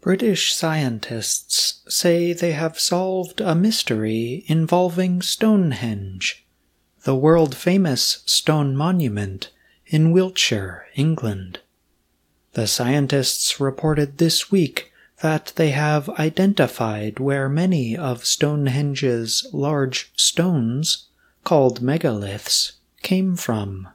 British scientists say they have solved a mystery involving Stonehenge, the world-famous stone monument in Wiltshire, England. The scientists reported this week that they have identified where many of Stonehenge's large stones, called megaliths, came from.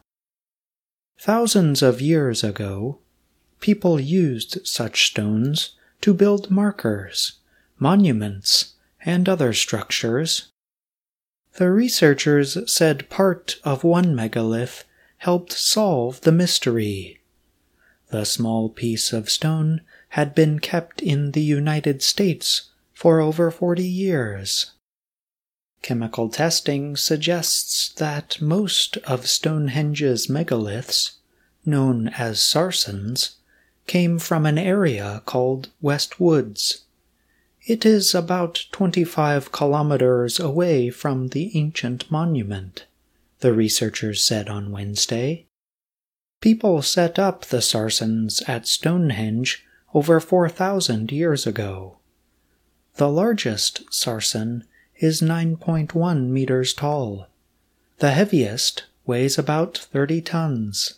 Thousands of years ago, people used such stones to build markers, monuments, and other structures. The researchers said part of one megalith helped solve the mystery. The small piece of stone had been kept in the United States for over 40 years. Chemical testing suggests that most of Stonehenge's megaliths, known as sarsens, came from an area called West Woods. It is about 25 kilometers away from the ancient monument, the researchers said on Wednesday. People set up the sarsens at Stonehenge over 4,000 years ago. The largest sarsen is 9.1 meters tall. The heaviest weighs about 30 tons.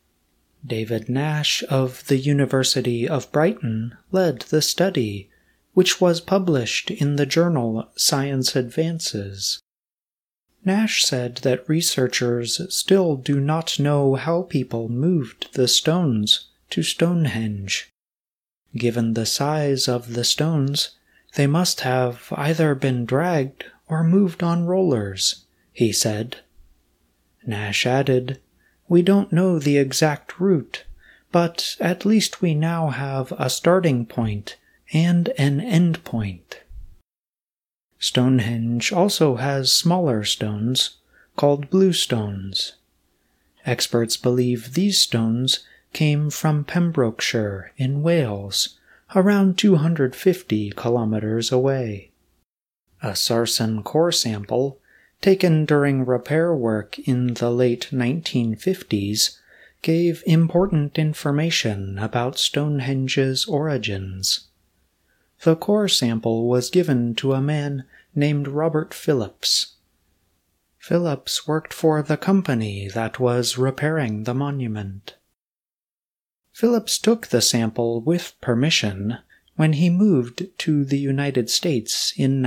David Nash of the University of Brighton led the study, which was published in the journal Science Advances. Nash said that researchers still do not know how people moved the stones to Stonehenge. Given the size of the stones, they must have either been dragged or moved on rollers, he said. Nash added, "We don't know the exact route, but at least we now have a starting point and an end point." Stonehenge also has smaller stones, called bluestones. Experts believe these stones came from Pembrokeshire in Wales, around 250 kilometers away. A sarsen core sample, taken during repair work in the late 1950s, gave important information about Stonehenge's origins. The core sample was given to a man named Robert Phillips. Phillips worked for the company that was repairing the monument. Phillips took the sample with permission when he moved to the United States in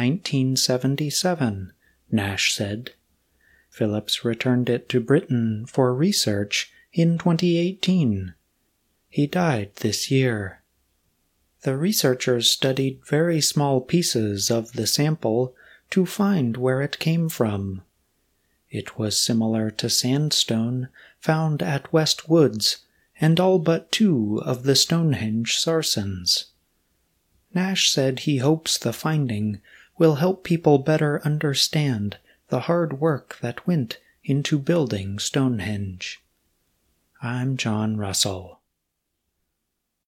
1977, Nash said. Phillips returned it to Britain for research in 2018. He died this year. The researchers studied very small pieces of the sample to find where it came from. It was similar to sandstone found at West Woods and all but 2 of the Stonehenge sarsens. Nash said he hopes the finding will help people better understand the hard work that went into building Stonehenge. I'm John Russell.